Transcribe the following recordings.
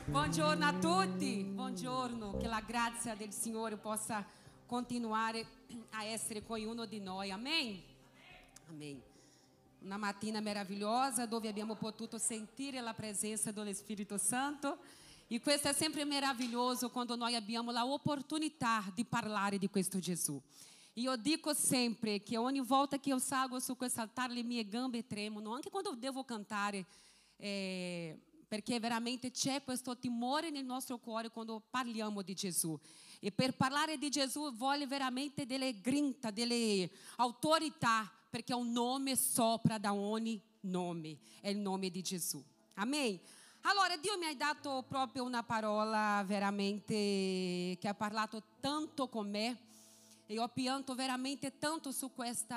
Buongiorno a tutti, buongiorno, che la grazia del Signore possa continuare a essere con ognuno di noi, amém? Amém. Una mattina meravigliosa dove abbiamo potuto sentire la presenza dello Spirito Santo e questo è sempre meraviglioso quando noi abbiamo la opportunità di parlare di questo Gesù. Io dico sempre che ogni volta che io salgo su questo altare le mie gambe tremono, anche quando devo cantare, perché veramente c'è questo timore nel nostro cuore quando parliamo di Gesù. E per parlare di Gesù voglio veramente delle grinta, delle autorità, perché è un nome sopra da ogni nome, è il nome di Gesù. Amém? Allora, Dio mi ha dato proprio una parola veramente che ha parlato tanto con me. E ho pianto veramente tanto su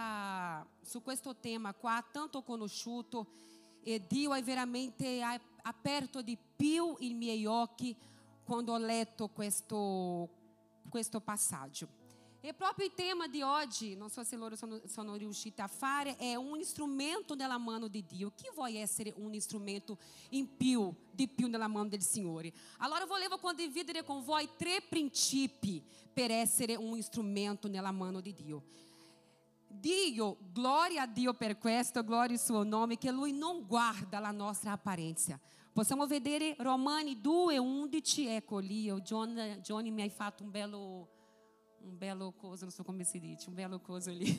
questo tema qua, tanto conosciuto. E Dio ha veramente aperto di più i miei occhi quando ho letto questo passaggio. E proprio il tema di oggi, non so se loro sono riusciti a fare, è un strumento nella mano di Dio. Chi vuole essere un strumento di più nella mano del Signore? Allora volevo condividere con voi 3 princìpi per essere un strumento nella mano di Dio. Dio, gloria a Dio per questo, gloria al suo nome, che Lui non guarda la nostra apparenza. Possiamo vedere Romani 2:11, ecco lì, Johnny mi hai fatto un bello coso, non so come si dice, un bello coso lì.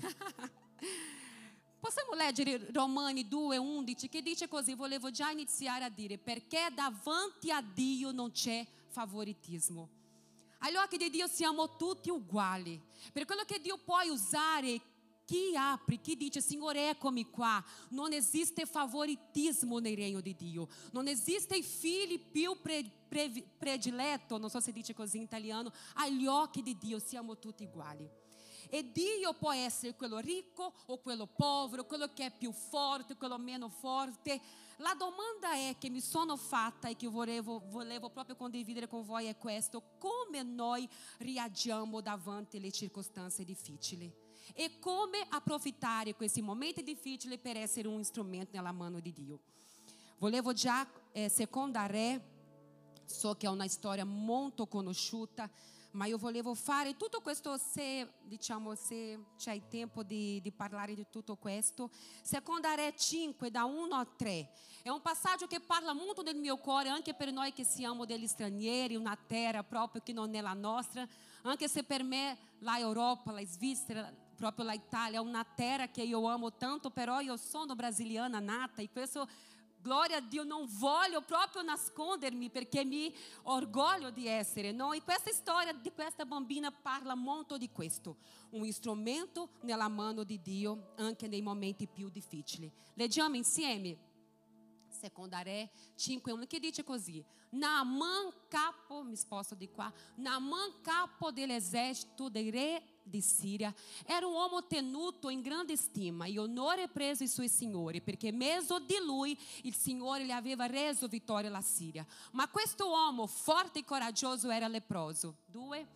Possiamo leggere Romani 2:11 che dice così, volevo già iniziare a dire, perché davanti a Dio non c'è favoritismo. Agli occhi di Dio siamo tutti uguali, per quello che Dio può usare. Chi apre, chi dice, Signore, eccomi qua. Non esiste favoritismo nel regno di Dio. Non esiste i figli più prediletto, non so se dice così in italiano, agli occhi di Dio siamo tutti uguali. E Dio può essere quello ricco o quello povero, quello che è più forte, quello meno forte. La domanda è che mi sono fatta e che volevo proprio condividere con voi è questo: come noi reagiamo davanti alle circostanze difficili? E come approfittare questi momenti difficili per essere un strumento nella mano di Dio. Volevo già, Seconda Re, so che è una storia molto conosciuta, ma io volevo fare tutto questo, se c'è il tempo di parlare di tutto questo. Seconda Re 5, da 1 a 3. È un passaggio che parla molto del mio cuore, anche per noi che siamo degli stranieri, una terra proprio che non è la nostra, anche se per me la Europa, la Svizzera, proprio la Italia è una terra che io amo tanto, però io sono brasiliana nata e questo, gloria a Dio, non voglio proprio nascondermi perché mi orgoglio di essere, no? E questa storia di questa bambina parla molto di questo, un strumento nella mano di Dio anche nei momenti più difficili. Leggiamo insieme Seconda Re 5:1 che dice così: Naaman capo, mi sposto di qua, Naaman capo dell'esercito del re di Síria era un uomo tenuto in grande stima e onore preso ai suoi signori, perché mezzo di lui il Signore gli aveva reso vittoria alla Siria. Ma questo uomo forte e coraggioso era leproso. 2.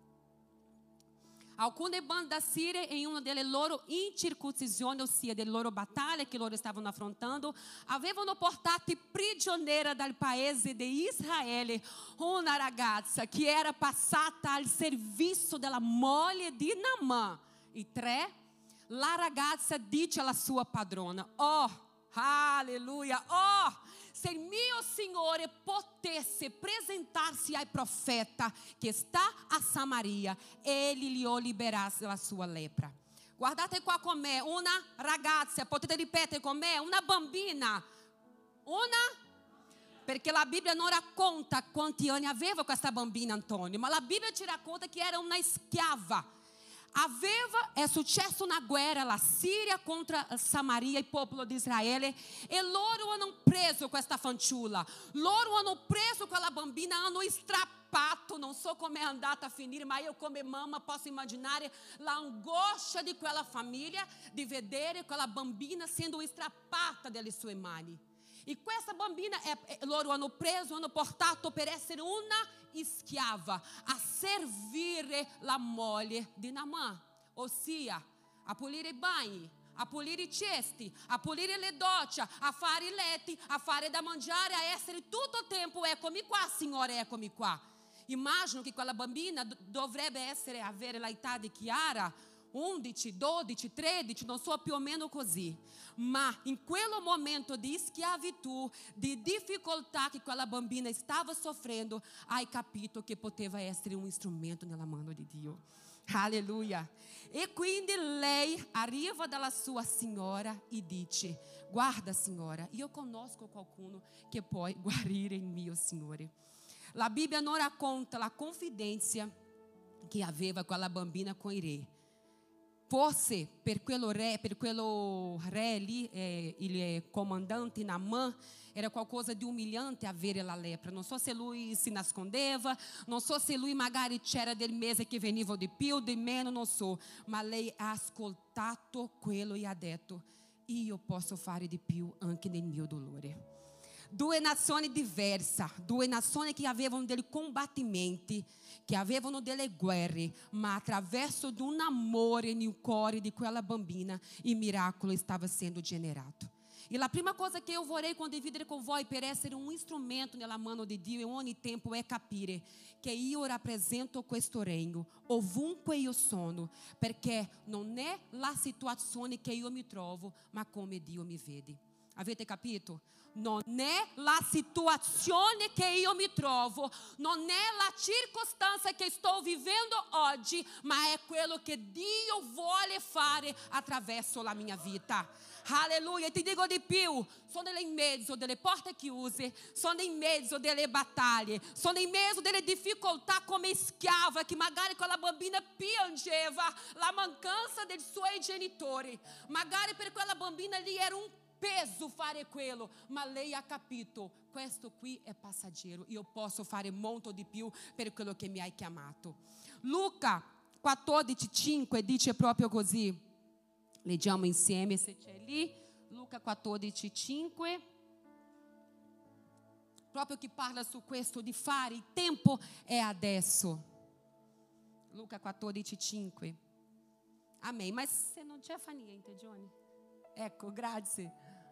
Alcune bande da Siria, in una delle loro incirconcisioni, ossia delle loro battaglie che loro stavano affrontando, avevano portato prigioniera dal paese di Israele una ragazza che era passata al servizio della moglie di Naaman. E 3, la ragazza dice alla sua padrona: oh, alleluia, oh, se il mio Signore potesse presentarsi al profeta che sta a Samaria, egli gli liberasse la sua lepra. Guardate qua con me, una ragazza, potete ripetere con me, una bambina, perché la Bibbia non racconta quanti anni aveva questa bambina, Antonio, ma la Bibbia ci racconta che era una schiava. È successo una guerra, la Siria contro Samaria, il popolo di Israele, e loro hanno preso questa fanciulla, loro hanno preso quella bambina, hanno strappato, non so come è andata a finire, ma io come mamma posso immaginare l'angoscia di quella famiglia di vedere quella bambina essendo strappata dalle sue mani. E questa bambina loro hanno preso, hanno portato per essere una schiava a servire la moglie di Naaman, ossia a pulire i bagni, a pulire i cesti, a pulire le docce, a fare i letti, a fare da mangiare, a essere tutto il tempo, eccomi qua, Signore, eccomi qua. Immagino che quella bambina dovrebbe avere l'età di Chiara, 11, 12, 13, non so, più o meno così. Ma in quel momento di schiavitù, di difficoltà che quella bambina stava soffrendo, hai capito che poteva essere un strumento nella mano di Dio. Alleluia. E quindi lei arriva dalla sua signora e dice: guarda, signora, io conosco qualcuno che può guarire il mio Signore. La Bibbia non racconta la confidenza che aveva quella bambina con il re. Forse per quello re lì, il comandante Naamã, era qualcosa di umiliante avere la lepra. Non so se lui si nascondeva, non so se lui magari c'era del mese che veniva di più, di meno, non so. Ma lei ha ascoltato quello e ha detto: io posso fare di più anche nel mio dolore. Due nazioni diverse, due nazioni che avevano dei combattimenti, che avevano delle guerre, ma attraverso di un amore nel cuore di quella bambina, il miracolo stava sendo generato. E la prima cosa che eu vorrei condividere con voi per essere un strumento nella mano di Dio in ogni tempo è capire che io rappresento questo regno ovunque io sono, perché non è la situazione che io mi trovo, ma come Dio mi vede. Avete capito? Non è la situazione che io mi trovo, non è la circostanza che sto vivendo oggi, ma è quello che Dio vuole fare attraverso la mia vita. Alleluia. E ti dico di più: sono in mezzo delle porte chiuse, sono in mezzo delle battaglie, sono in mezzo delle difficoltà come schiava, che magari quella bambina piangeva la mancanza dei suoi genitori. Magari per quella bambina lì era un peso fare quello, ma lei ha capito: questo qui è passaggero, io posso fare molto di più per quello che mi hai chiamato. Luca 14,5 dice proprio così. Leggiamo insieme se c'è lì. Luca 14,5, proprio che parla su questo di fare, il tempo è adesso. Luca 14,5. Amém. Mas se non c'è fa niente, Johnny. Ecco, grazie.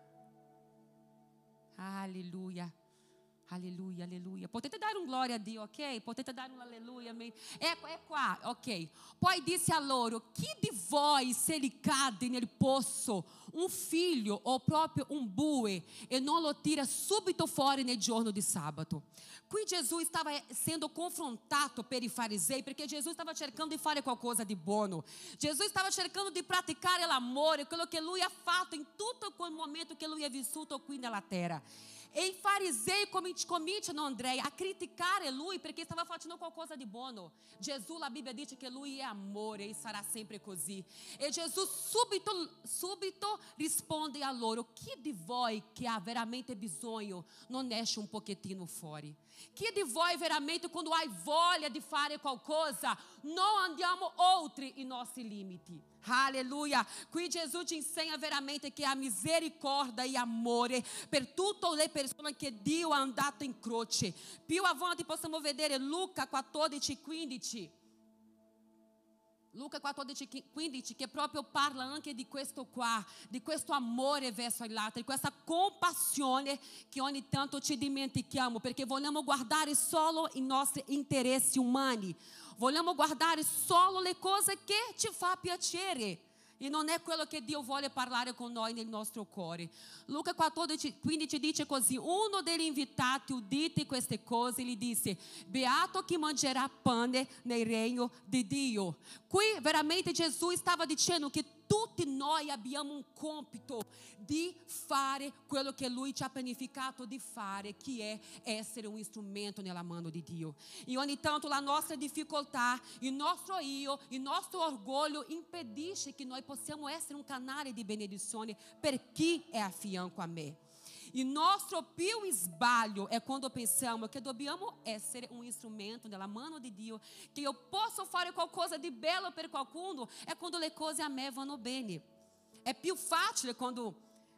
Alleluia. Alleluia, alleluia. Potete dare un gloria a Dio, ok? Potete dare un alleluia, amém? É qua, ok. Poi disse a loro: chi di voi, se lhe cade nel poço un figlio o proprio un bue e non lo tira subito fuori nel giorno di sabato? Qui Gesù stava sendo confrontato per i farisei, perché Gesù stava cercando di fare qualcosa di buono. Gesù stava cercando di praticare l'amore, quello che lui ha fatto in tutto quel momento che lui ha vissuto qui nella terra. E i farisei cominciano, André, a criticare lui perché stava facendo qualcosa di buono. Gesù, la Bibbia dice che lui è amore e sarà sempre così. E Gesù subito risponde a loro: chi di voi che ha veramente bisogno non esce un pochettino fuori? Chi di voi veramente, quando hai voglia di fare qualcosa, non andiamo oltre i nostri limiti? Alleluia. Qui Gesù ci insegna veramente che ha misericórdia e amore per tutte le persone che Dio ha andato in croce. Più avanti possiamo vedere Luca 14,15. Luca 14,15, che proprio parla anche di questo qua, di questo amore verso gli altri, questa compassione che ogni tanto ci dimentichiamo, perché vogliamo guardare solo i nostri interessi umani, vogliamo guardare solo le cose che ci fa piacere. E non è quello che Dio vuole parlare con noi nel nostro cuore. Luca 14,15 dice così: uno degli invitati, udite queste cose, gli disse: beato chi mangerà pane nel regno di Dio. Qui veramente Gesù stava dicendo che tutti noi abbiamo un compito di fare quello che Lui ci ha pianificato di fare, che è essere un strumento nella mano di Dio. E ogni tanto la nostra difficoltà, il nostro io, il nostro orgoglio impedisce che noi possiamo essere un canale di benedizione per chi è a fianco a me. Il nostro più sbaglio è quando pensiamo che dobbiamo essere un strumento nella mano di Dio, che io posso fare qualcosa di bello per qualcuno, è quando le cose a me vanno bene. È più facile quando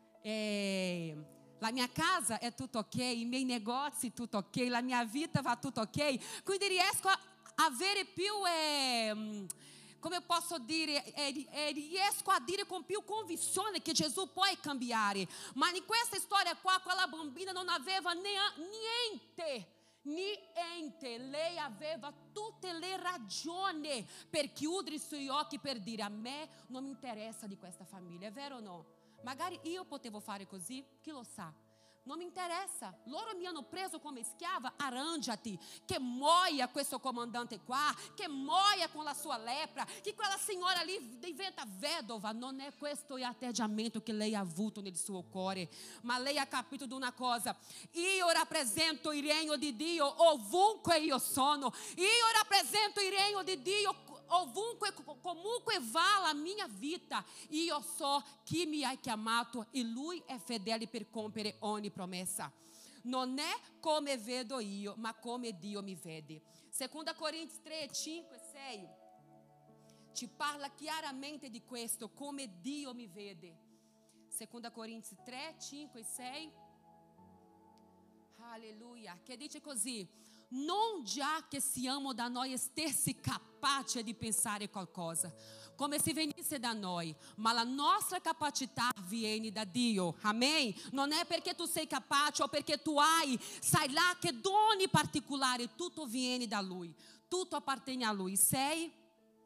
la mia casa è tutto ok, i miei negozi tutto ok, la mia vita va tutto ok, quindi riesco a avere più come eu posso dire, riesco a dire con più convinzione che Gesù può cambiare. Ma in questa storia qua, quella bambina non aveva niente. Lei aveva tutte le ragioni per chiudere i suoi occhi, per dire: a me non mi interessa di questa famiglia, è vero o no? Magari io potevo fare così, chi lo sa? Non mi interessa, loro mi hanno preso come schiava, arrangiati, che muoia questo comandante qua, che muoia con la sua lepra, che quella signora lì diventa vedova. Non è questo l'atteggiamento che lei ha avuto nel suo cuore, ma lei ha capito di una cosa: io rappresento il regno di Dio ovunque io sono, io rappresento il regno di Dio ovunque, comunque va la mia vita. Io so chi mi ha chiamato e Lui è fedele per compiere ogni promessa. Non è come vedo io, ma come Dio mi vede. 2 Corinzi 3, 5 e 6 ci parla chiaramente di questo, come Dio mi vede. 2 Corinzi 3, 5 e 6. Alleluia. Che dice così: non già che siamo da noi stessi capaci di pensare qualcosa, come se venisse da noi, ma la nostra capacità viene da Dio. Amen? Non è perché tu sei capace o perché tu hai, sai là che doni particolari, tutto viene da Lui, tutto appartiene a Lui. Sei?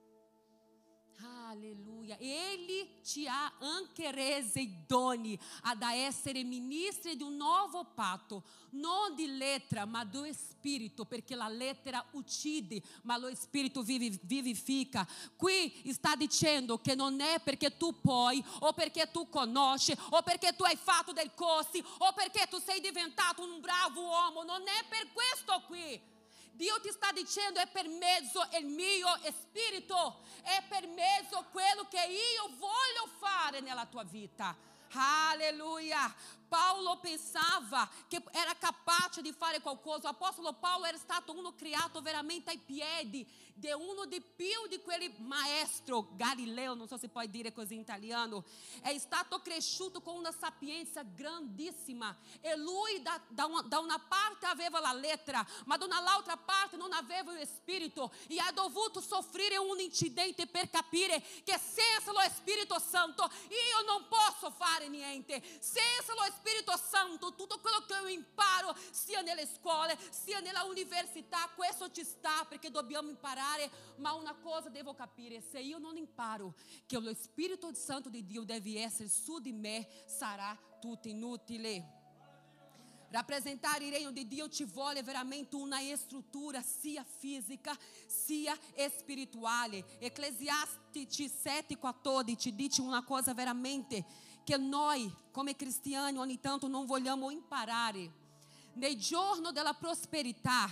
Alleluia. Ele ti ha anche resi doni ad essere ministri di un nuovo patto, non di lettera ma do Spirito, perché la lettera uccide ma lo Spirito vivifica. Qui sta dicendo che non è perché tu puoi, o perché tu conosci, o perché tu hai fatto dei corsi, o perché tu sei diventato un bravo uomo. Non è per questo qui. Dio ti sta dicendo: è per mezzo il mio Spirito, è per mezzo quello che io voglio fare nella tua vita. Alleluia. Paulo pensava che era capace di fare qualcosa. L'apostolo Paulo era stato uno creato veramente ai piedi di uno di più di quelli maestro Galileo, non so se puoi dire così in italiano. È stato cresciuto con una sapienza grandissima e lui da una parte aveva la lettera, ma dall'altra parte non aveva lo Spirito, e ha dovuto soffrire un incidente per capire che senza lo Spirito Santo io non posso fare niente. Senza lo Spirito Santo tutto quello che io imparo, sia nelle scuole sia nella università, questo ci sta perché dobbiamo imparare. Ma una cosa devo capire: se io non imparo che lo Spirito Santo di Dio deve essere su di me, sarà tutto inutile. Rappresentare il regno di Dio ci vuole veramente una struttura sia fisica sia spirituale. Ecclesiastici 7,14 dice una cosa veramente che noi come cristiani ogni tanto non vogliamo imparare. Nei giorni della prosperità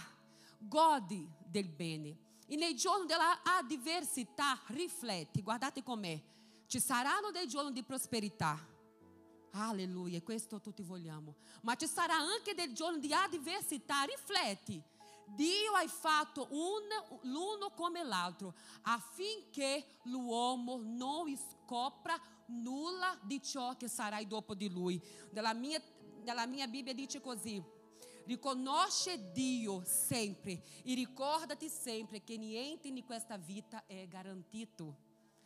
godi del bene, e nei giorni della avversità rifletti. Guardate com'è: ci saranno dei giorni di prosperità, alleluia, questo tutti vogliamo, ma ci sarà anche dei giorni di avversità. Rifletti: Dio ha fatto l'uno come l'altro affinché l'uomo non scopra nulla di ciò che sarà dopo di lui. Nella mia Bibbia dice così: riconosce Dio sempre e ricordati sempre che niente in questa vita è garantito.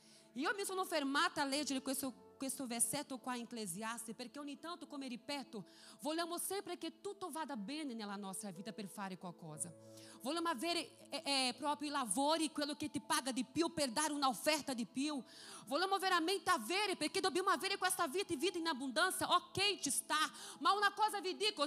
Io mi sono fermata a leggere questo versetto qua in Ecclesiastes perché ogni tanto, come ripeto, vogliamo sempre che tutto vada bene nella nostra vita per fare qualcosa. Vogliamo avere proprio i lavori, quello che ti paga di più per dare un'offerta di più. Vogliamo veramente avere, perché dobbiamo avere questa vita e vita in abbondanza. Ok, ci sta, ma una cosa vi dico: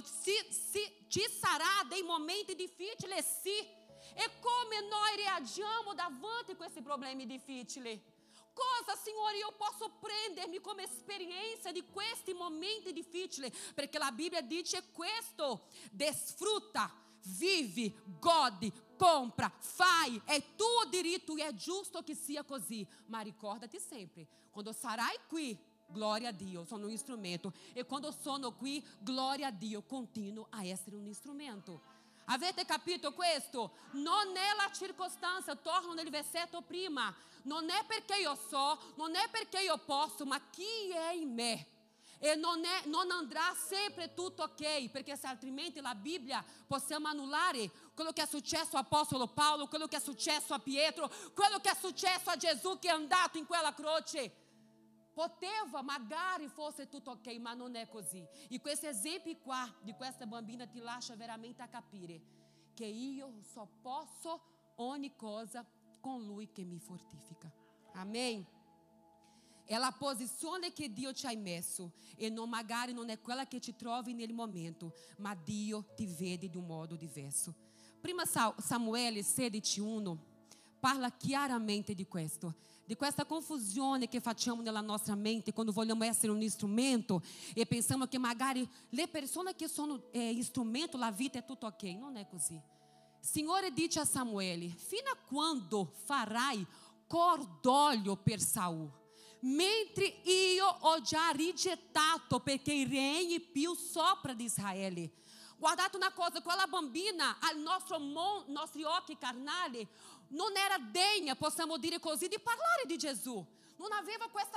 ci sarà dei momenti difficili, sì. E come noi reagiamo davanti a questi problemi difficili? Cosa, Signore, io posso prendermi come esperienza di questi momenti difficili? Perché la Bibbia dice questo: desfrutta, vivi, godi, compra, fai, è tuo diritto e è giusto che sia così. Ma ricordati sempre, quando sarai qui, glória a Dio, sono un strumento, e quando sono qui, glória a Dio, continuo a essere un strumento. Avete capito questo? Non è la circostanza, torno nel versetto prima, non è perché io so, non è perché io posso, ma chi è in me. e non andrà sempre tutto ok, perché se altrimenti la Bibbia possiamo annullare quello che è successo all'Apostolo Paolo, quello che è successo a Pietro, quello che è successo a Gesù che è andato in quella croce. Poteva, magari fosse tutto ok, ma non è così. E questi esempi qua di questa bambina ti lascia veramente a capire che io só posso ogni cosa con Lui che mi fortifica. Amém? È la posizione che Dio ci ha messo e magari non è quella che ti trovi nel momento, ma Dio ti vede di un modo diverso. Prima Samuele 16:1 parla chiaramente di questo, di questa confusione che facciamo nella nostra mente quando vogliamo essere un strumento e pensiamo che magari le persone che sono strumento, la vita è tutto ok. Non è così. Signore dice a Samuele: fino a quando farai cordoglio per Saul, mentre io ho già rigettato perché regni più sopra di Israele. Guardate una cosa, quella bambina ai nostri occhi carnali non era degna, possiamo dire così, di parlare di Gesù. Non aveva questa,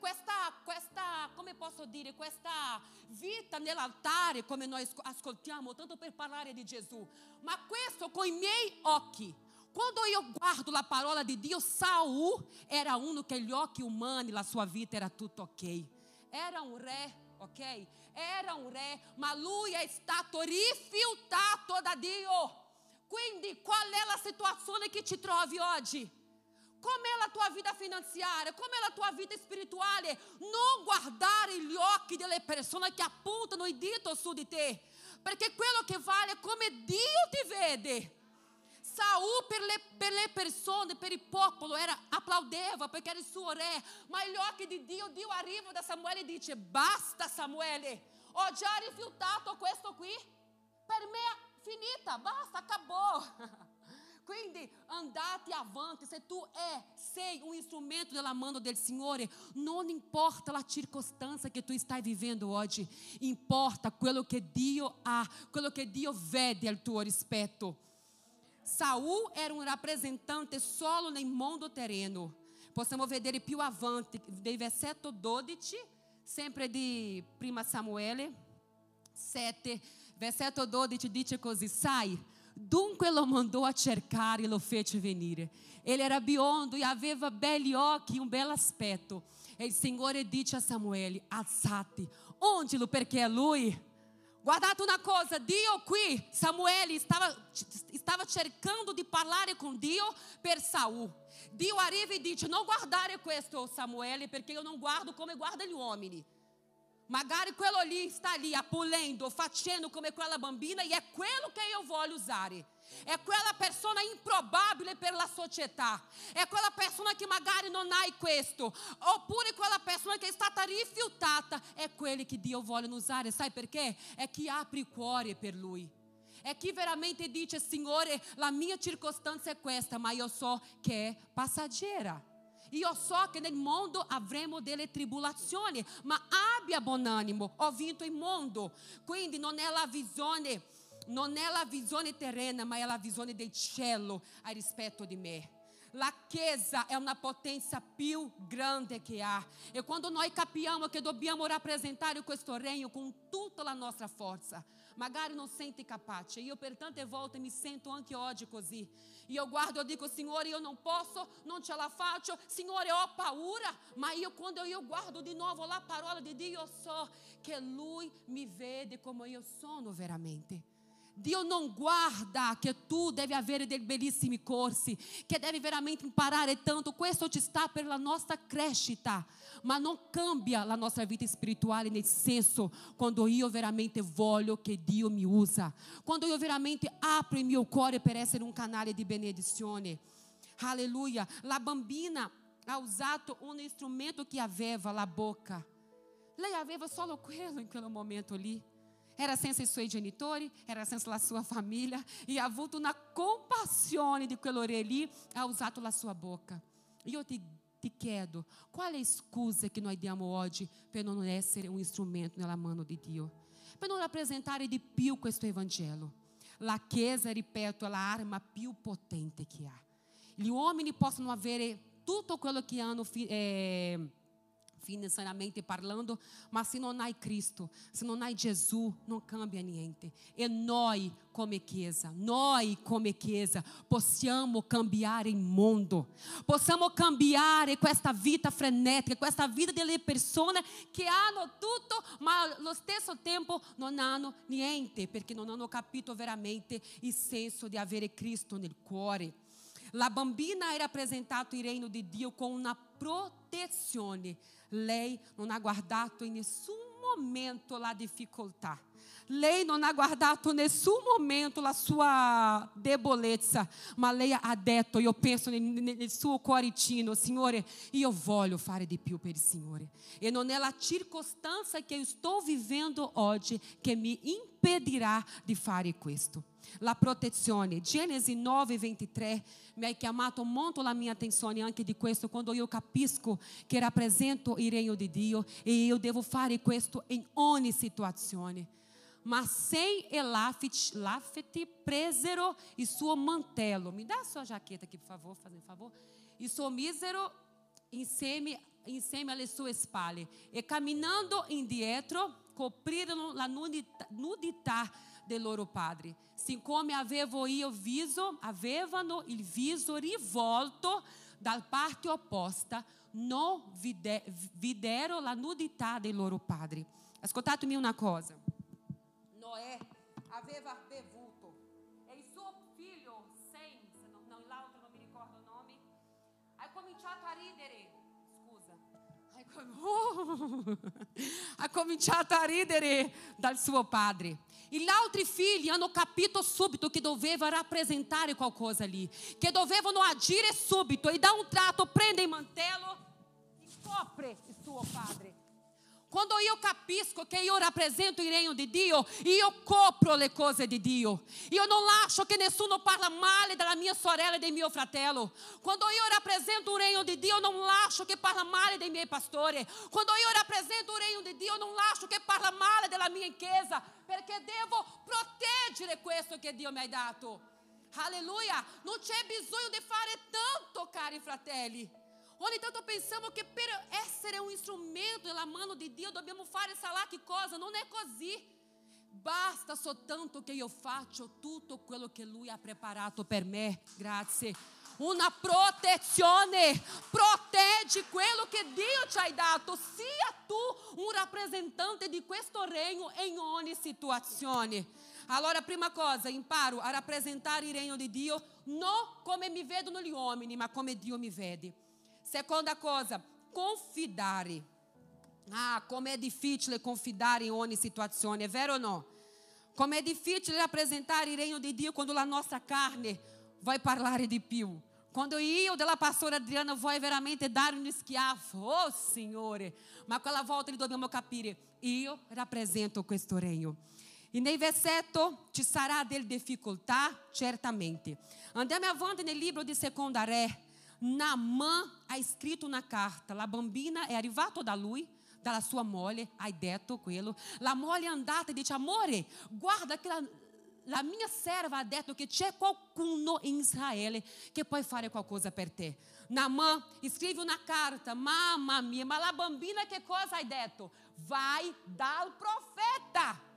come posso dire, questa vita nell'altare come noi ascoltiamo tanto per parlare di Gesù. Ma questo con i miei occhi. Quando io guardo la parola di Dio, Saul era uno che gli occhi umani, la sua vita era tutto ok. Era un re, ok? Era un re, ma lui è stato rifiutato da Dio. Quindi qual è la situazione che ti trovi oggi? Com'è la tua vita finanziaria? Com'è la tua vita spirituale? Non guardare gli occhi delle persone che appuntano il dito su di te, perché quello che vale è come Dio ti vede. Saul per le persone, per il popolo applaudeva perché era il suo re, ma agli occhi di Dio arriva da Samuele e dice: basta Samuele, ho già rifiutato questo qui, per me è finita, basta, acabou. Quindi andate avanti, se tu sei un strumento nella mano del Signore, non importa la circostanza che tu stai vivendo oggi, importa quello che Dio ha, quello che Dio vede al tuo rispetto. Saul era un rappresentante solo nel mondo terreno. Possiamo vedere più avanti, del versetto 12, sempre di prima Samuele 7, versetto 12 dice così: sai, dunque lo mandò a cercare e lo fece venire. Ele era biondo e aveva belli occhi, un bel aspetto. E il Signore dice a Samuele: alzati, ondilo perché è lui. Guardate una cosa, Dio qui, Samuele stava cercando di parlare con Dio per Saul. Dio arriva e dice: non guardare questo Samuele, perché io non guardo come guarda gli uomini. Magari quello lì sta lì appulendo, facendo come quella bambina, e è quello che io voglio usare. È quella persona improbabile per la società. È quella persona che magari non ha questo. Oppure quella persona che è stata rifiutata. È quelli che Dio vuole usare. Sai perché? È chi apre il cuore per Lui. È chi veramente dice: Signore, la mia circostanza è questa, ma io so che è passaggera. Io so che nel mondo avremo delle tribolazioni, ma abbia buon animo, ho vinto il mondo. Quindi non è la visione terrena, ma è la visione del cielo a rispetto di me. La Chiesa è una potenza più grande che ha. E quando noi capiamo che dobbiamo rappresentare questo regno con tutta la nostra forza, magari non senti capace. Io per tante volte mi sento anche oggi così. Io guardo e dico: Signore, io non posso, non ce la faccio. Signore, ho paura. Ma quando io guardo di nuovo la parola di Dio, io so che Lui mi vede come io sono veramente. Dio non guarda che tu devi avere dei bellissimi corsi, che devi veramente imparare tanto. Questo ci sta per la nostra crescita, ma non cambia la nostra vita spirituale, nel senso, quando io veramente voglio che Dio mi usa, quando io veramente apro il mio cuore per essere un canale di benedizione. Alleluia. La bambina ha usato un strumento che aveva la boca. Lei aveva solo quello in quel momento lì. Era senza i suoi genitori, era senza la sua famiglia, e ha avuto una compassione di quello re lì, ha usato la sua bocca. Io ti chiedo, qual è la scusa che noi diamo oggi per non essere un strumento nella mano di Dio? Per non rappresentare di più questo Evangelo. La Chiesa, ripeto, è l'arma più potente che ha. Gli uomini possono avere tutto quello che hanno financeiramente parlando, mas se non hai Cristo, se non hai Gesù, non cambia niente. E noi come Chiesa possiamo cambiare il mondo, possiamo cambiare questa vita frenetica, questa vita delle persone che hanno tutto, ma allo stesso tempo non hanno niente, perché non hanno capito veramente il senso di avere Cristo nel cuore. La bambina era rappresentato il regno di Dio con una protezione. Lei non ha guardato in nessun momento la difficoltà. Lei non ha guardato in nessun momento la sua debolezza, ma lei ha detto, io penso nel suo cuoricino, Signore, io voglio fare di più per il Signore. E non è la circostanza che io sto vivendo oggi che mi impedirà di fare questo. La protezione, Genesi 9:23 mi ha chiamato molto la mia attenzione anche di questo, quando io capisco che rappresento il regno di Dio e io devo fare questo in ogni situazione. Ma Sem e Lafete presero il suo mantello. Mi dà a sua jaqueta aqui, por favor, fazendo favor. Il suo misero insieme alle sue spalle. E camminando indietro, coprirono la nudità del loro padre. Siccome avevano il viso rivolto dalla parte opposta, non videro la nudità del loro padre. Ascoltatemi una cosa. Noè aveva bevuto e il suo figlio Sem, l'altro non mi ricordo il nome, ha cominciato a ridere. Ha cominciato a ridere dal suo padre. E gli altri figli hanno capito subito che doveva rappresentare qualcosa lì, che dovevano agire subito, e da un tratto prende il mantello e copre il suo padre. Quando io capisco che io rappresento il regno di Dio, io copro le cose di Dio. Io non lascio che nessuno parla male della mia sorella e del mio fratello. Quando io rappresento il regno di Dio, non lascio che parla male dei miei pastori. Quando io rappresento il regno di Dio, non lascio che parla male della mia chiesa, perché devo proteggere questo che Dio mi ha dato. Alleluia! Non c'è bisogno di fare tanto, cari fratelli. Ogni tanto pensiamo che per essere un strumento nella mano di Dio dobbiamo fare sa là che cosa. Non è così. Basta soltanto che io faccio tutto quello che Lui ha preparato per me. Grazie. Una protezione. Proteggi quello che Dio ci ha dato. Sia tu un rappresentante di questo regno in ogni situazione. Allora, prima cosa, imparo a rappresentare il regno di Dio non come mi vedono gli uomini, ma come Dio mi vede. Seconda cosa, confidare. Come è difficile confidare in ogni situazione, è vero o no? Come è difficile rappresentare il regno di Dio quando la nostra carne vuole parlare di più. Quando io della pastora Adriana voglio veramente dare un schiaffo, oh Signore, ma quella volta li dobbiamo capire, io rappresento questo regno. E nel versetto ci sarà delle difficoltà, certamente. Andiamo avanti nel libro di Seconda Re. Naamã ha scritto una carta. La bambina è arrivata da lui, dalla sua moglie, ha detto quello. La moglie è andata e dice: amore, guarda che la mia serva ha detto che c'è qualcuno in Israele che può fare qualcosa per te. Naamã scrive una carta. Mamma mia, ma la bambina che cosa ha detto? Vai dal profeta.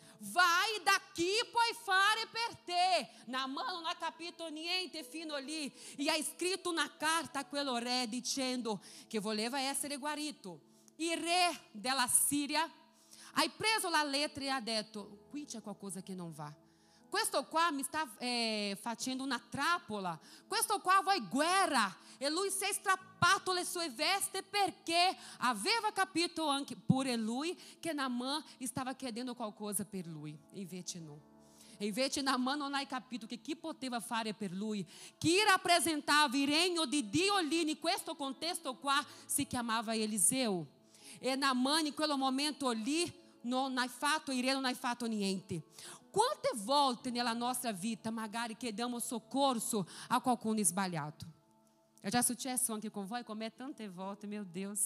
Vai da chi puoi fare per te. Naamã non ha capito niente fino lì e ha scritto una carta a quello re dicendo che voleva essere guarito. Il re della Siria ha preso la lettera e ha detto: qui c'è qualcosa che non va. Questo qua mi sta facendo una trappola. Questo qua vuole guerra. E lui si è strappato le sue vesti perché aveva capito anche pure lui che Naamã stava chiedendo qualcosa per lui. Invece no. Invece Naamã non ha capito che chi poteva fare per lui, chi rappresentava il regno di Dio lì in questo contesto qua, si chiamava Eliseu. E Naamã in quel momento lì non ha fatto, il re non ha fatto niente. Quante volte nella nostra vita magari chiediamo soccorso a qualcuno sbagliato? È già successo anche con voi? Come tante volte, meu Deus.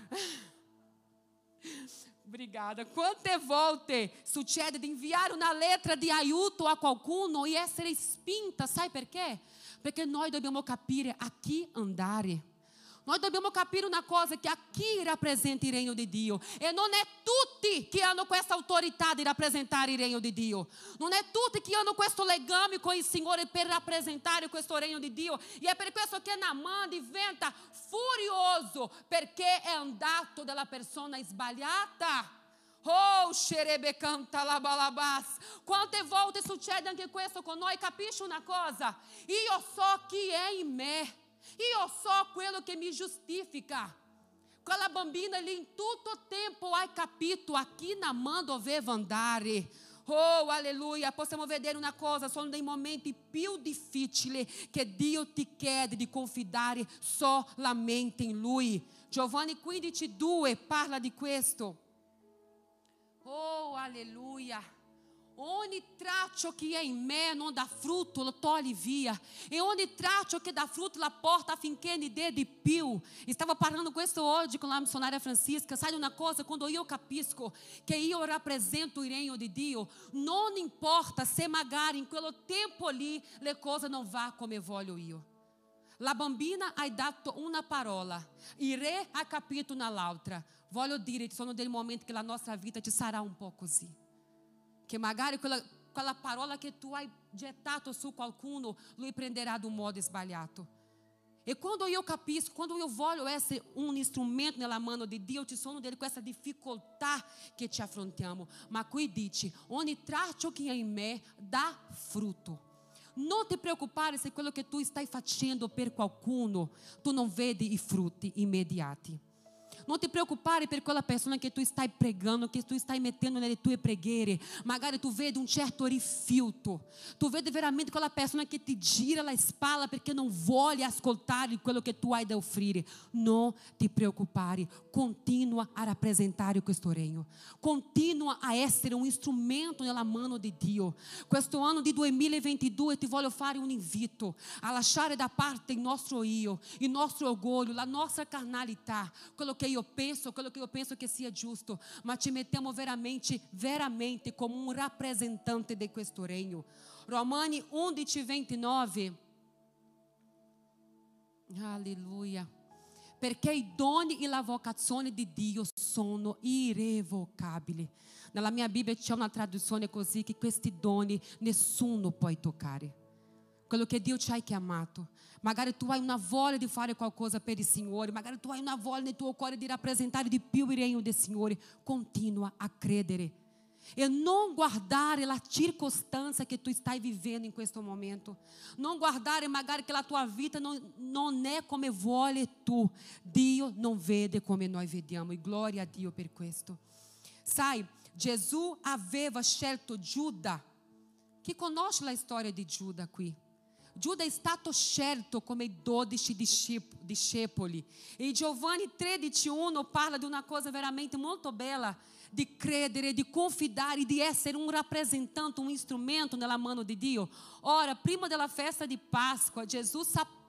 Obrigada. Quante volte succede di inviare una lettera di aiuto a qualcuno e essere spinta, sai perché? Perché noi dobbiamo capire a chi andare. Noi dobbiamo capire una cosa, che aqui rappresenta il regno di Dio. E non è tutti che hanno questa autorità di rappresentare il regno di Dio. Non è tutti che hanno questo legame con il Signore per rappresentare questo regno di Dio. E è per questo che Naaman diventa furioso, perché è andato dalla persona sbagliata. Oh, xerebe canta la balabas. Quante volte succede anche questo con noi? Capisci una cosa? Io so chi è in me. Io so quello che mi giustifica. Quella bambina lì in tutto tempo hai capito a chi Naaman doveva andare. Oh, alleluia. Possiamo vedere una cosa, sono dei momenti più difficili che Dio ti chiede di confidare solamente in Lui. Giovanni 15:2 parla di questo. Oh, alleluia. Ogni traccio che è in me non dà frutto, lo togli via. E ogni traccio che dà frutto la porta affinché ne dê di più. Stavo parlando questo oggi con la missionária Francisca. Sai una cosa? Quando io capisco che io rappresento il regno di Dio, non importa se magari in quello tempo lì le cose non vanno come voglio io. La bambina ha dato una parola, il re ha capito un'altra. Voglio dire, ci sono dei momenti che la nostra vita ci sarà un po' così. Che magari quella parola che tu hai gettato su qualcuno, lui prenderà di un modo sbagliato. E quando io capisco, quando io voglio essere un strumento nella mano di Dio, ci sono delle queste difficoltà che ci affrontiamo. Ma qui dice, ogni traccio che è in me dà frutto. Non ti preoccupare se quello che tu stai facendo per qualcuno, tu non vedi i frutti immediati. Non ti preoccupare per quella persona che tu stai pregando, che tu stai mettendo nelle tue preghiere. Magari tu vedi un certo rifiuto. Tu vedi veramente quella persona che ti gira la spalla perché non vuole ascoltare quello che tu hai da offrire. Non ti preoccupare. Continua a rappresentare questo regno. Continua a essere un strumento nella mano di Dio. Questo anno di 2022 ti voglio fare un invito a lasciare da parte il nostro io, il nostro orgoglio, la nostra carnalità, quello che io penso che sia giusto, ma ci mettiamo veramente come un rappresentante di questo regno. Romani 11:29. Alleluia. Perché i doni e la vocazione di Dio sono irrevocabili. Nella mia Bibbia c'è una traduzione così, che questi doni nessuno può toccare. Quello che Dio ci ha chiamato. Magari tu hai una voglia di fare qualcosa per il Signore, magari tu hai una voglia nel tuo cuore di rappresentare di più il regno del Signore. Continua a credere e non guardare la circostanza che tu stai vivendo in questo momento. Non guardare magari che la tua vita non è come vuole tu. Dio non vede come noi vediamo, e gloria a Dio per questo. Sai, Gesù aveva scelto Giuda. Chi conosce la storia di Giuda qui? Giuda è stato scelto come 12 discepoli. E Giovanni 13:1 parla di una cosa veramente molto bella, di credere, di confidare, di essere un rappresentante, un strumento nella mano di Dio. Ora, prima della festa di Páscoa, Gesù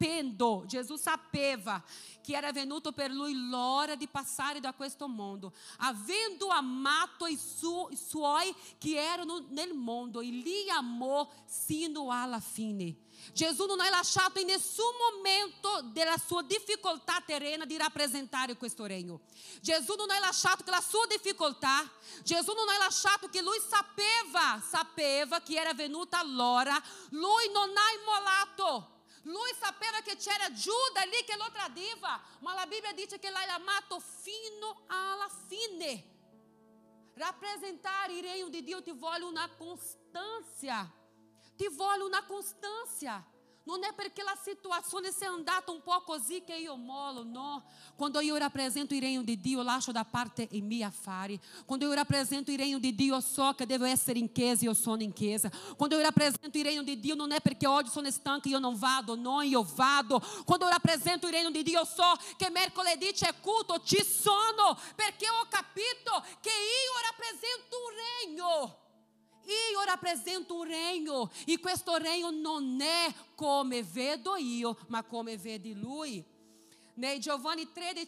sapeva che era venuto per lui l'ora di passare da questo mondo, avendo amato i suoi che erano nel mondo, e li amò sino alla fine. Gesù non ha lasciato in nessun momento della sua difficoltà terrena di rappresentare questo regno. Gesù non ha lasciato che la sua difficoltà, Gesù non ha lasciato che lui sapeva che era venuta l'ora, lui non ha immolato. Lui sapeva che c'era Giuda lì che lo tradiva, ma la Bibbia dice che l'ha amato fino alla fine. Rappresentare il regno di Dio ti vuole una costanza. Ti vuole una costanza. Non è perché la situazione sia andata un po' così che io mollo, no. Quando io rappresento il regno di Dio, lascio da parte i miei affari. Quando io rappresento il regno di Dio, so che devo essere in chiesa e io sono in chiesa. Quando io rappresento il regno di Dio, non è perché oggi sono stanca e io non vado, no, io vado. Quando eu rappresento il regno di Dio, so che mercoledì c'è culto, ci sono, perché ho capito che io rappresento un regno. Io rappresento un regno, e questo regno non è come vedo io, ma come vede lui. Nei Giovanni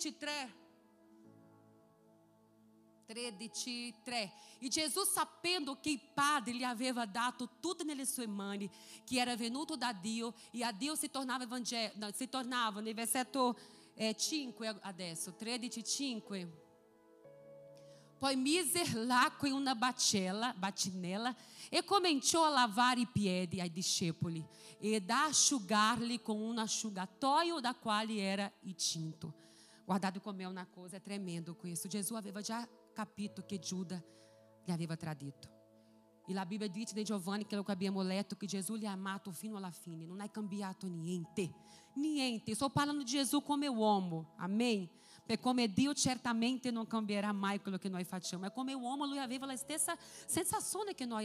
13:3. E Gesù, sapendo che il Padre gli aveva dato tutto nelle sue mani, che era venuto da Dio, e a Dio si tornava nel versetto 5 adesso, 13:5. Poi mise l'acqua in una bacinella e cominciò a lavare i piedi ai discepoli ed a asciugarli con un asciugatoio da quale era tinto. Guardate come è una cosa, è tremendo questo. Gesù aveva già capito che Giuda gli aveva tradito. E la Bibbia dice di Giovanni, quello che abbiamo letto, che Gesù gli ha amato fino alla fine, non ha cambiato niente. Niente, sto parlando di Gesù come uomo, amém? Perché come Dio certamente non cambierà mai quello che noi facciamo, ma come uomo lui aveva la stessa sensazione che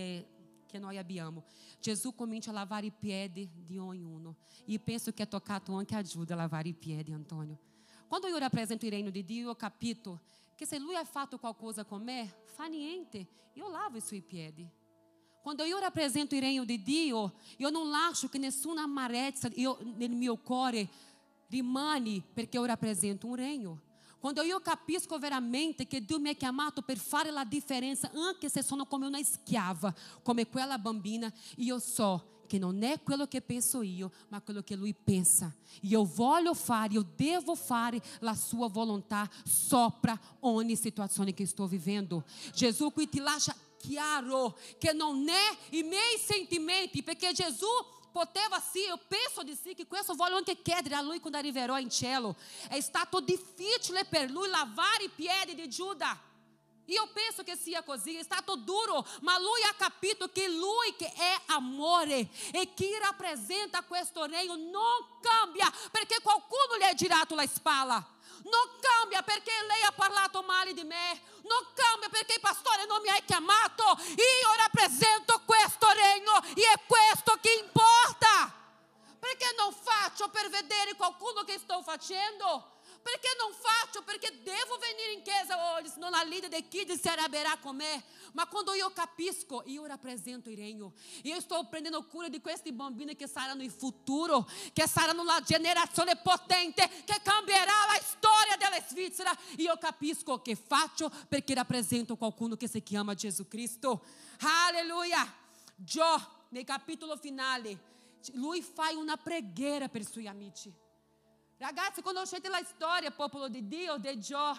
noi abbiamo. Gesù comincia a lavare i piedi di ognuno. E penso che ha toccato anche a Giuda a lavare i piedi, Antonio. Quando io rappresento il regno di Dio, io ho capito che se lui ha fatto qualcosa con me, fa niente, io lavo i suoi piedi. Quando io rappresento il regno di Dio, io non lascio che nessuna amarezza nel mio cuore rimane, perché io rappresento un regno. Quando io capisco veramente che Dio mi ha chiamato per fare la differenza, anche se sono come una schiava, come quella bambina, io so che non è quello che penso io, ma quello che lui pensa. E eu voglio fare, eu devo fare la sua volontà sopra ogni situazione che sto vivendo. Gesù qui ti lascia chiaro che non è i miei sentimenti, perché Gesù poteva sì, io penso di sì, che questo voglio anche chiedere a lui quando arriverò in cielo. È stato difficile per lui lavare i piedi di Giuda. Io penso che sia così, è stato duro, ma lui ha capito che lui che è amore e che rappresenta questo regno non cambia perché qualcuno gli ha girato la spalla. Non cambia perché lei ha parlato male di me. Non cambia perché il pastore non mi ha chiamato. Io rappresento questo regno e è questo che importa. Perché non faccio per vedere qualcuno che sto facendo? Perché non faccio? Perché devo venire in chiesa oggi, senão la leader de kids si arrabierà con me. Ma quando io capisco, io rappresento il regno. Io sto prendendo cura di questi bambini che saranno il futuro, che saranno la generazione potente, che cambierà la storia della Svizzera. Io capisco che faccio perché rappresento qualcuno che si chiama Gesù Cristo. Alleluia. Gio, nel capitolo finale, lui fa una preghiera per i suoi amici. Ragazzi, quando sente la storia, popolo di Dio, di Gio,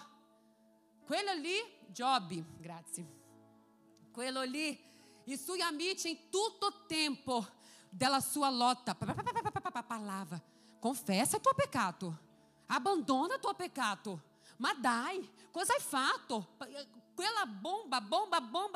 quello lì, Giobbe, grazie, quello lì, i suoi amici in tutto il tempo della sua lotta, parlava, confessa il tuo peccato, abbandona il tuo peccato, ma dai, cosa hai fatto? Quella bomba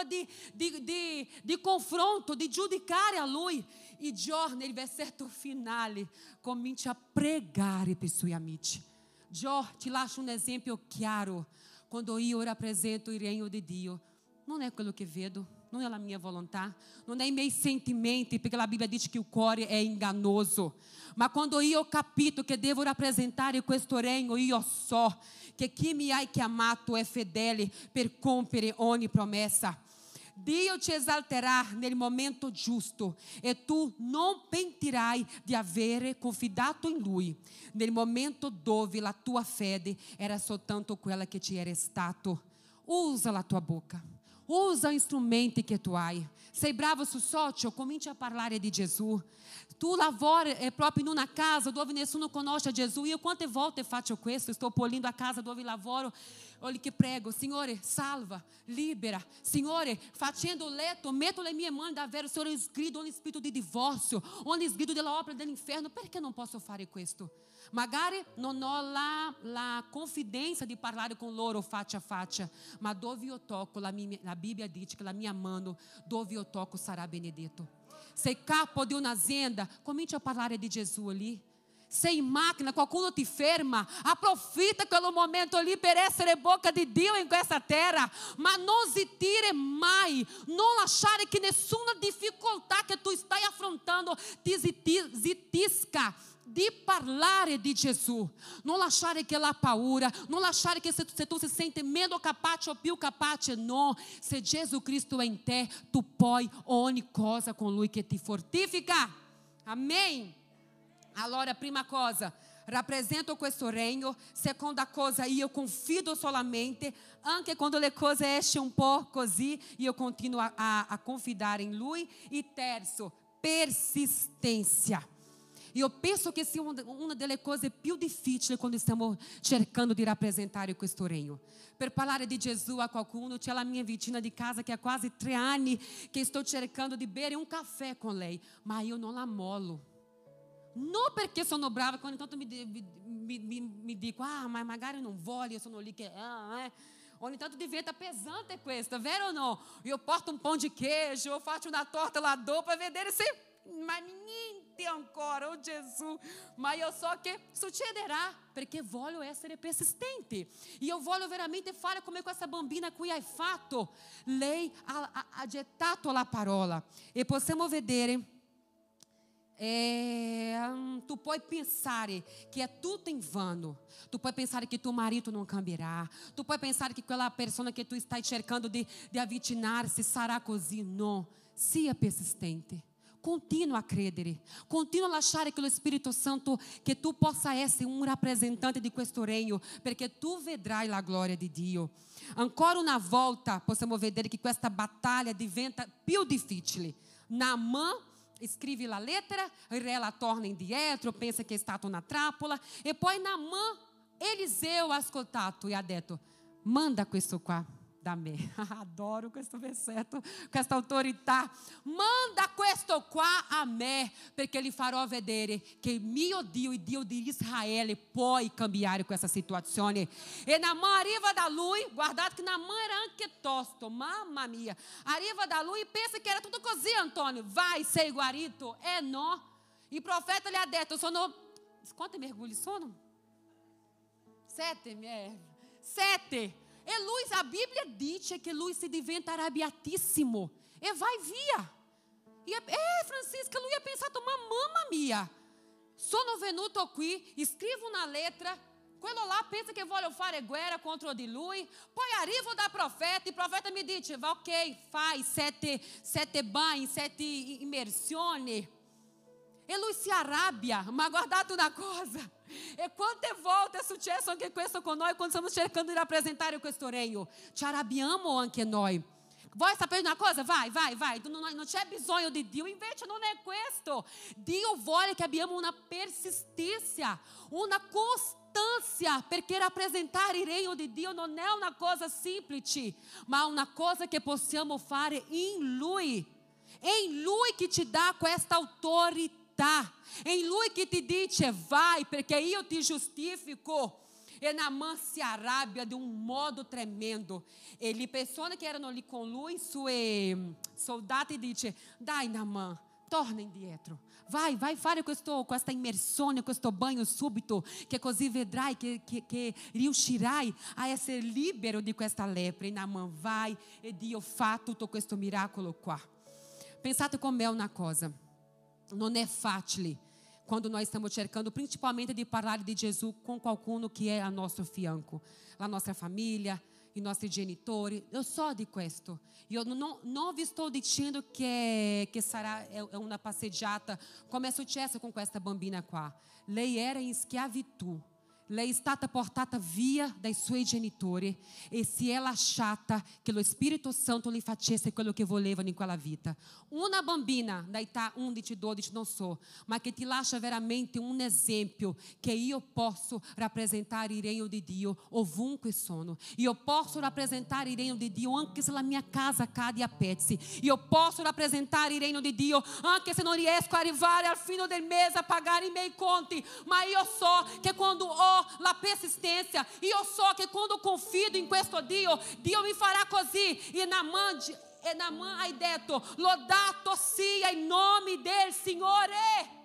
di confronto, di giudicare a lui. E Gio, nel versetto finale, comincia a pregare per i suoi amici. Gio, ti lascio un esempio chiaro. Quando io rappresento il regno di Dio, non è quello che vedo, non è la mia volontà, non è i miei sentimenti, perché la Bibbia dice che il cuore è ingannoso. Ma quando io ho capito che devo rappresentare questo regno, io so che chi mi ha chiamato è fedele per compiere ogni promessa. Dio ti esalterà nel momento giusto e tu non pentirai di avere confidato in Lui nel momento dove la tua fede era soltanto quella che ti era stato. Usa la tua boca, usa gli strumenti che tu hai. Sei bravo sul social, comincia a parlare di Gesù. Tu lavori proprio in una casa dove nessuno conosce Gesù. Io quante volte faccio questo? Sto polindo a casa dove lavoro. Olha che prego, Signore, salva, libera. Signore, facendo o letto, metto le mie mani davvero, Signore, sgrido ogni spirito di divorzio, ogni sgrido della opera dell'inferno. Perché non posso fare questo? Magari non ho la confidenza di parlare con loro faccia a faccia, ma dove io tocco, la Bibbia dice che la mia mano, dove io tocco, sarà benedetto. Sei capo di un'azienda, comincia a parlare di Gesù ali. Sei in macchina, qualcuno ti ferma, approfitta quello momento lì per essere bocca di Dio in questa terra, ma non zittire mai, non lasciare che nessuna difficoltà che tu stai affrontando ti zittisca di parlare di Gesù. Non lasciare che la paura, non lasciare che se tu si sente meno capace o più capace, no. Se Gesù Cristo è in te, tu puoi ogni cosa con Lui che ti fortifica. Amém? Allora, prima cosa, rappresento questo regno. Seconda cosa, io confido solamente, anche quando le cose escono un po' così, io continuo a confidare in Lui. E terzo, persistência. Io penso che sia una delle cose più difficili quando stiamo cercando di rappresentare questo regno. Per parlare di Gesù a qualcuno, c'è la mia vicina di casa che há quasi 3 anni che sto cercando di bere un caffè con lei, ma io non la mollo. Non perché sono brava, quando intanto mi dico, ma magari non voglio, io sono lì che... Ogni tanto diventa pesante questo, vero ou não? Eu porto um pão de queijo, eu faço uma torta lá do para vedere se... Ma niente ancora, oh Gesù. Ma io so che succederà, perché voglio essere persistente. Io voglio veramente fare come questa bambina qui hai fatto. Lei ha gettato la parola. E possiamo vedere... tu puoi pensare che è tutto in vano. Tu puoi pensare che tuo marito non cambierà. Tu puoi pensare che quella persona che tu stai cercando di avvicinarsi sarà così. No, sia persistente. Continua a credere, continua a lasciare che lo Spirito Santo, che tu possa essere un rappresentante di questo regno, perché tu vedrai la gloria di Dio. Ancora una volta possiamo vedere che questa battaglia diventa più difficile. Naamã scrive la lettera, il re la torna indietro, pensa che è stata una trappola, e poi Naamã, Eliseu ha ascoltato e ha detto: manda questo qua da me. Adoro questo versetto, questa autorità. Manda questo qua a me, perché gli farò vedere che il mio Dio, il Dio di Israele, può cambiare questa situazione. E Naamã arriva da lui, guardate che Naamã era anche tosto, mamma mia. Arriva da lui e pensa che era tutto così, Antônio. Vai, sei guarito. No. Il profeta gli ha detto, quanti mergulhi sono? 7. 7. E lui, a Bíblia dice che lui si diventa arrabbiatissimo e vai via. Francisca, lui ha pensato, ma mamma mia, sono venuto qui, scrivo una lettera, quello là pensa che voglio fare guerra contro di lui, poi arrivo da profeta, il profeta mi dice, va ok, fai 7 bagni, 7 immersioni. E lui si arrabbia, ma guardate una cosa, e quante volte è successo anche questo con noi quando stiamo cercando di rappresentare questo regno? Ci arrabbiamo anche noi. Vuoi sapere una cosa? Vai, non c'è bisogno di Dio, invece non è questo. Dio vuole che abbiamo una persistenza, una costanza, perché rappresentare il regno di Dio non è una cosa semplice, ma una cosa che possiamo fare in Lui. È in Lui che ti dà questa autorità. È in Lui che ti dice vai, perché io ti giustifico. E Naamã si arrabbia di un modo tremendo. E le persone che erano lì con lui, i suoi soldati, dice: dai Naamã, torna indietro. Vai fare questa immersione, questo bagno subito, che così vedrai che riuscirai a essere libero di questa lepre. E Naamã vai e Dio fa tutto questo miracolo qua. Pensate con me una cosa. Non è facile quando noi stiamo cercando principalmente di parlare di Gesù con qualcuno che è a nostro fianco, la nostra famiglia, i nostri genitori. Io so di questo. Io non vi sto dicendo che sarà una passeggiata come è successo con questa bambina qua. Lei era in schiavitù. Lei è stata portata via dai suoi genitori e si è lasciata che lo Spirito Santo le facesse quello che volevano in quella vita. Una bambina da età 11, 12, non so, ma che ti lascia veramente un esempio che io posso rappresentare il regno di Dio ovunque sono. Io posso rappresentare il regno di Dio anche se la mia casa cade a pezzi. Io posso rappresentare il regno di Dio anche se non riesco a arrivare al fine del mese a pagare i miei conti. Ma io so che quando ho la persistência, io so che quando confido in questo Dio, Dio mi farà così. E Naamã ha detto: lodato sia il nome del Signore.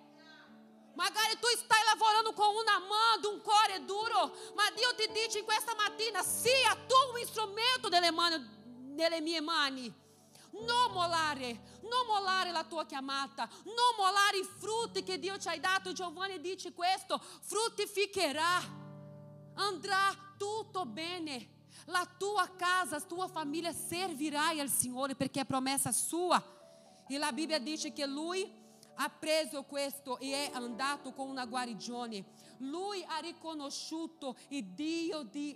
Magari tu stai lavorando con una mano, un cuore duro, ma Dio ti dice in questa mattina: sia tu un strumento nelle mie mani. Non mollare la tua chiamata, non mollare i frutti che Dio ci ha dato. Giovanni dice questo: fruttificherà, andrà tutto bene. La tua casa, la tua famiglia servirai al Signore perché è promessa sua. E la Bibbia dice che lui ha preso questo e è andato con una guarigione. Lui ha riconosciuto il Dio di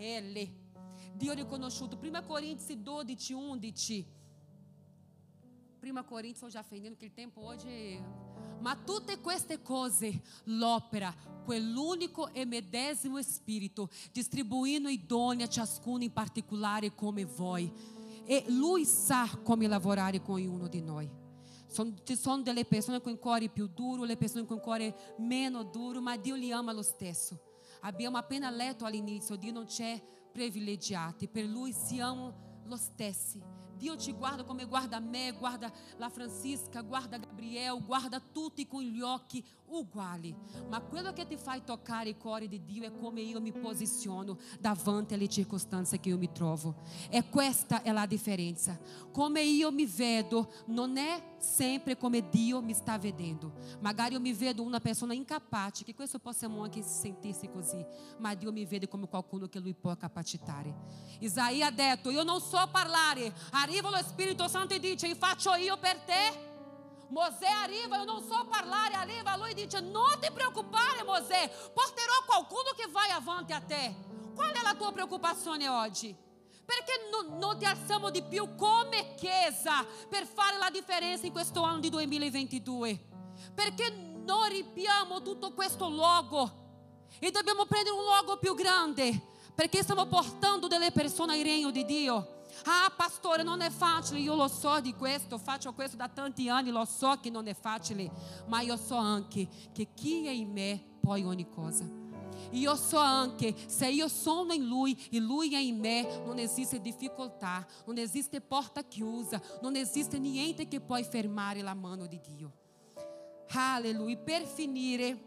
Israele. Dio riconosciuto. 1 Corinzi 12, 11. 1 Corinzi, sto già finendo che il tempo oggi. Ma tutte queste cose l'opera quell'unico e medesimo Spirito, distribuindo idonea a ciascuno in particolare come voi. E Lui sa come lavorare con ognuno di noi. Ci sono delle persone con il cuore più duro, le persone con il cuore meno duro, ma Dio li ama lo stesso. Abbiamo appena letto all'inizio, Dio non c'è privilegiati, per Lui siamo lo stessi. Dio ci guarda come guarda me, guarda la Francisca, guarda Gabriel, guarda tutti con gli occhi uguali. Ma quello che ti fa toccare il cuore di Dio è come io mi posiziono davanti alle circostanze che io mi trovo. E questa è la differenza. Come io mi vedo non è sempre come Dio mi sta vedendo. Magari io mi vedo una persona incapace, che questo possiamo anche sentirsi così, ma Dio mi vede come qualcuno che Lui può capacitare. Isaia ha detto: io non so parlare, arriva lo Spirito Santo e dice: faccio io per te. Mosè arriva: io non so parlare, arriva lui e dice: non ti preoccupare Mosè, porterò qualcuno che vai avanti a te. Qual è la tua preoccupazione oggi? Perché non ti alziamo di più come Chiesa per fare la differenza in questo anno di 2022? Perché non riempiamo tutto questo logo e dobbiamo prendere un logo più grande? Perché stiamo portando delle persone al regno di Dio. Ah, pastore, non è facile, io lo so di questo, faccio questo da tanti anni, lo so che non è facile, ma io so anche che chi è in me poi ogni cosa. Io so anche, se io sono in Lui e Lui è in me, non esiste difficoltà, non esiste porta chiusa, non esiste niente che può fermare la mano di Dio. Alleluia. Per finire,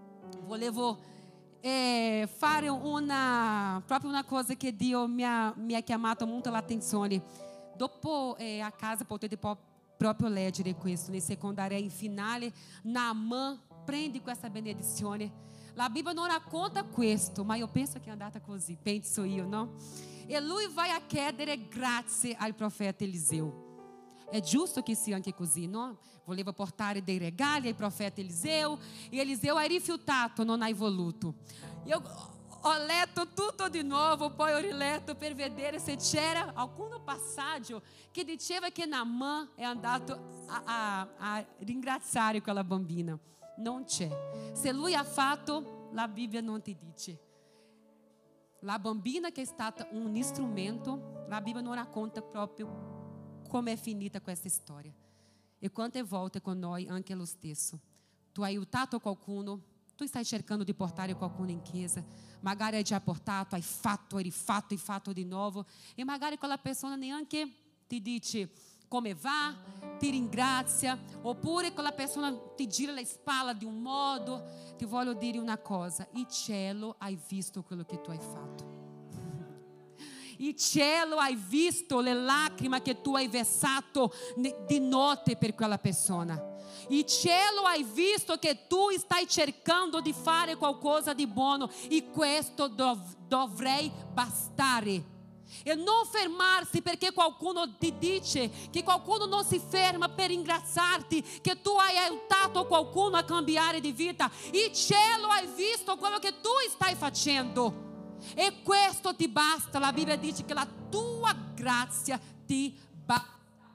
volevo fare proprio una cosa che Dio mi ha chiamato molto l'attenzione. Dopo a casa potete proprio leggere questo, nel secondario in finale, Naaman prende questa benedizione. La Bibbia non racconta questo, ma io penso che è andata così, penso io, no? E lui vai a chiedere grazie al profeta Eliseo. È giusto che sia anche così, no? Voleva portare dei regali al profeta Eliseo e Eliseo ha rifiutato, non hai voluto. Io ho letto tutto di nuovo, poi ho riletto per vedere se c'era alcun passaggio che diceva che Naaman è andato a ringraziare quella bambina. Non c'è. Se lui ha fatto, la Bibbia non ti dice. La bambina che è stata un strumento, la Bibbia non racconta proprio come è finita questa storia. E quante volte con noi anche lo stesso. Tu hai aiutato qualcuno, tu stai cercando di portare qualcuno in chiesa, magari hai già portato, hai fatto di nuovo, e magari quella persona neanche ti dice come va, ti ringrazia, oppure quella persona ti gira le spalle di un modo. Ti voglio dire una cosa: il cielo hai visto quello che tu hai fatto. Il cielo hai visto le lacrime che tu hai versato di notte per quella persona. Il cielo hai visto che tu stai cercando di fare qualcosa di buono, e questo dovrei bastare. E non fermarsi perché qualcuno ti dice, che qualcuno non si ferma per ringraziarti che tu hai aiutato qualcuno a cambiare di vita. Il cielo hai visto quello che tu stai facendo, e questo ti basta. La Bibbia dice che la tua grazia ti basta.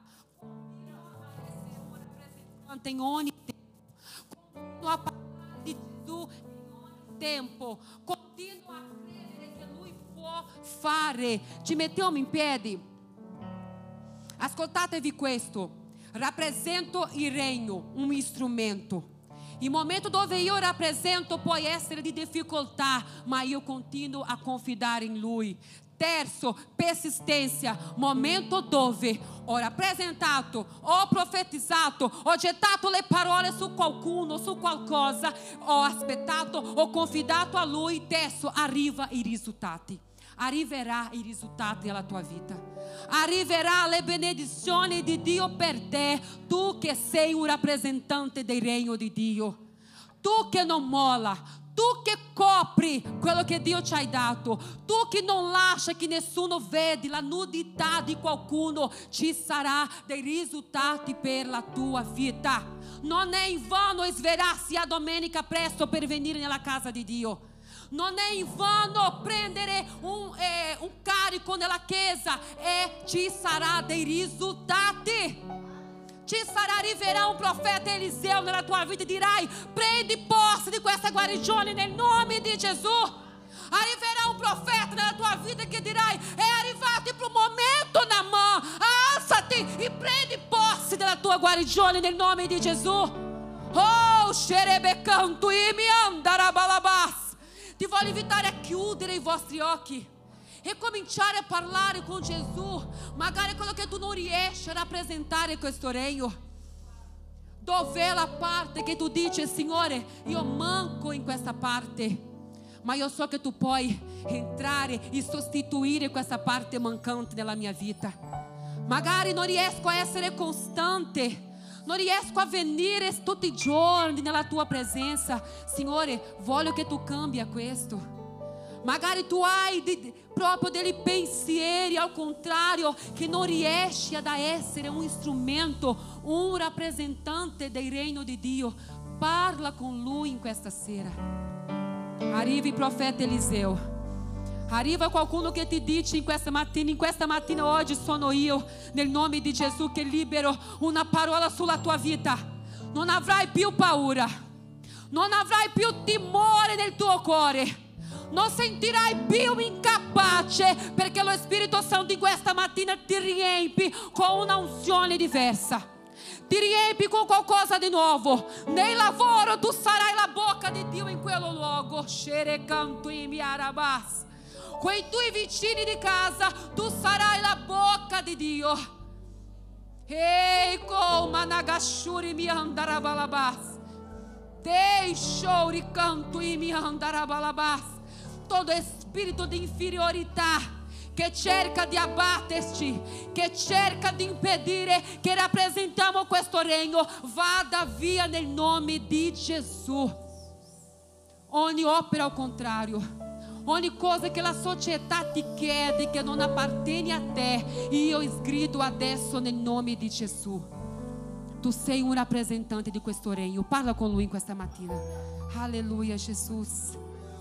In ogni tempo, continua a parlare di Gesù in ogni tempo, continua a credere che Lui può fare. Ci mettiamo in piedi. Ascoltatevi questo: rappresento il regno, un strumento. Il momento dove io rappresento può essere di difficoltà, ma io continuo a confidare in Lui. Terzo, persistência. Momento dove ho rappresentato, ho profetizzato, ho gettato le parole su qualcuno, su qualcosa, ho aspettato, ho confidato a Lui. Terzo, arriva i risultati. Arriverà i risultati nella tua vita. Arriverà le benedizioni di Dio per te. Tu che sei un rappresentante del regno di Dio. Tu che non molla. Tu che copri quello che Dio ci ha dato. Tu che non lascia che nessuno veda la nudità di qualcuno. Ci sarà dei risultati per la tua vita. Non è in vano svegliarsi a domenica presto per venire nella casa di Dio. Non è in vano prendere un carico nella chiesa, e ci sarà dei risultati. Arriverà un profeta Eliseo nella tua vita e dirai: prendi posse di questa guarigione nel nome di Gesù. Arriverà un profeta nella tua vita che dirai: è arrivato il momento, Naamã, alzati e prendi posse della tua guarigione nel nome di Gesù. Oh, xerebecanto e mi andarabalabas. Ti voglio invitare a chiudere i vostri occhi e cominciare a parlare con Gesù. Magari quello che tu non riesci a rappresentare questo regno. Dov'è la parte che tu dici: Signore, io manco in questa parte, ma io so che tu puoi entrare e sostituire questa parte mancante nella mia vita. Magari non riesco a essere costante, non riesco a venire tutti i giorni nella tua presenza. Signore, voglio che tu cambi questo. Magari tu hai proprio dei pensieri al contrario, che non riesci ad essere un strumento, un rappresentante del regno di Dio. Parla con lui in questa sera. Arriva il profeta Eliseo. Arriva qualcuno che ti dice in questa mattina oggi sono io, nel nome di Gesù, che libero una parola sulla tua vita. Non avrai più paura, non avrai più timore nel tuo cuore, non sentirai più incapace, perché lo Spirito Santo in questa mattina ti riempi con una unzione diversa, ti riempi con qualcosa di nuovo. Nel lavoro tu sarai la bocca di Dio in quello luogo. Con i tuoi vicini di casa tu sarai la bocca di Dio. Ehi, come nagashuri mi andarabalabas, deixo ricanto e mi andarabalabas. Todo spirito di inferiorità che cerca di abbatterci, che cerca di impedire che rappresentiamo questo regno, vada via nel nome di Gesù. Ogni opera al contrario, ogni cosa che la società ti chiede che non appartiene a te, io sgrido adesso nel nome di Gesù. Tu sei un rappresentante di questo regno. Parla con lui in questa mattina. Alleluia, Jesus.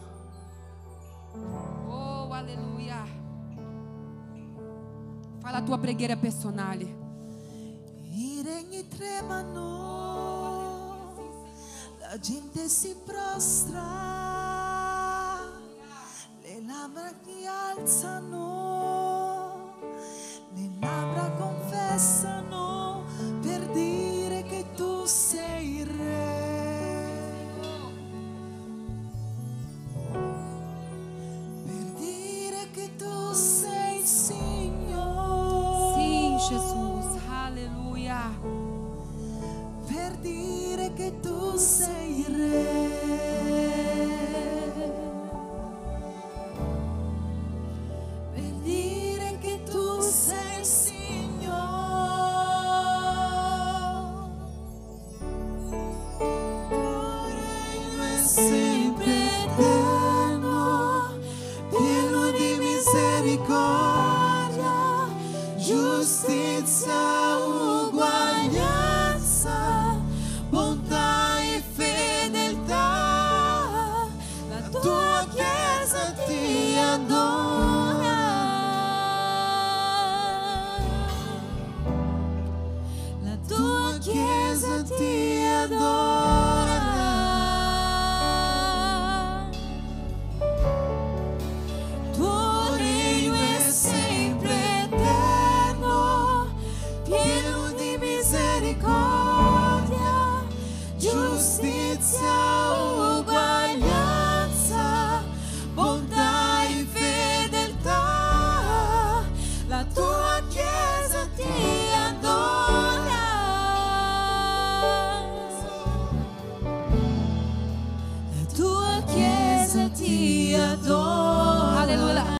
Oh, alleluia. Fai la tua preghiera personale. I regni tremano, la gente si prostra, le labbra ti alzano, le labbra confessano per dire che tu sei il re. Sei il Signore. Sì, Jesus, alleluia. Per dire che tu sei il re. Per dire che tu sei il Signore. Tuo regno è sempre eterno, pieno di misericordia, giustizia, uguaglianza, bontà e fedeltà. La tua Chiesa ti adora. La tua Chiesa ti adora. Tuo regno è sempre eterno, pieno di misericordia, giustizia,